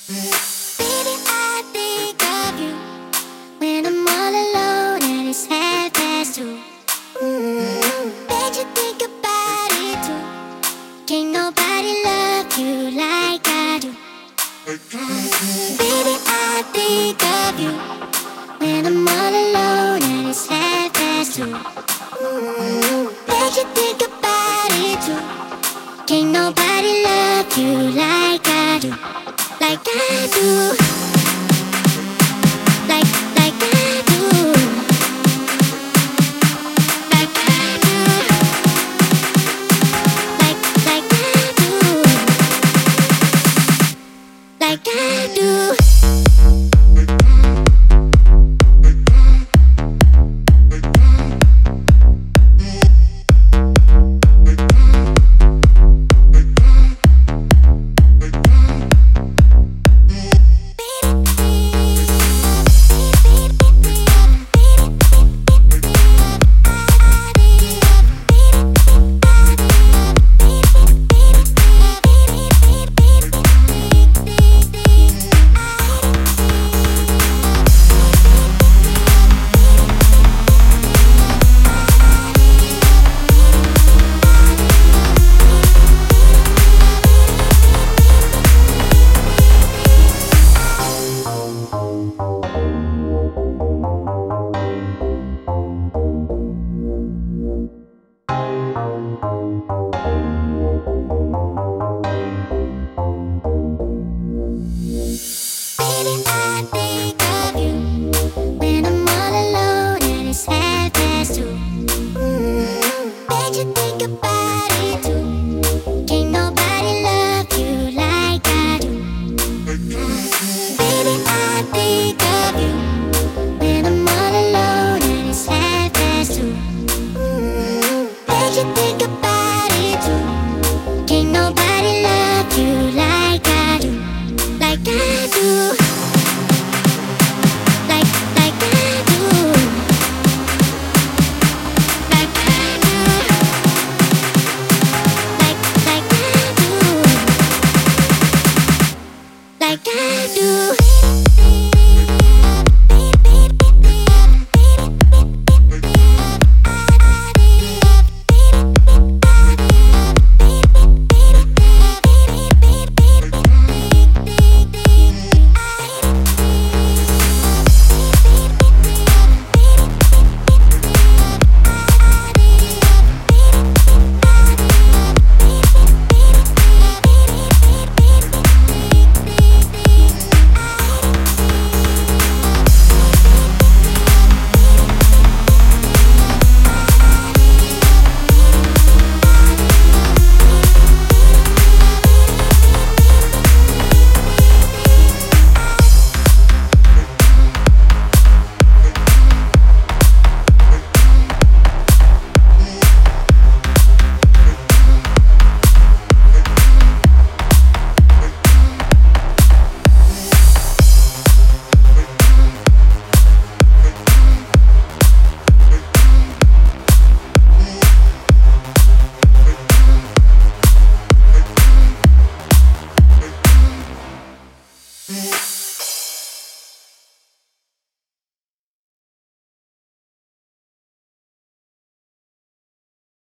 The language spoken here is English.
Baby, I think of you when I'm all alone and it's 2:30. Bet you think about it too. Can't nobody love you like I do. Baby, I think of you when I'm all alone and it's 2:30. Bet you think about it too. Can't nobody love you like I do. Like I do. Like I do. Like I do. Like I do. Like I do. Baby, I think of you when I'm all alone and it's 2:30. Bet you think about it too. Can't nobody love you like I do. Baby, I think of you when I'm all alone and it's 2:30. Bet you think about it too. Can't nobody love you like I do. Like I do.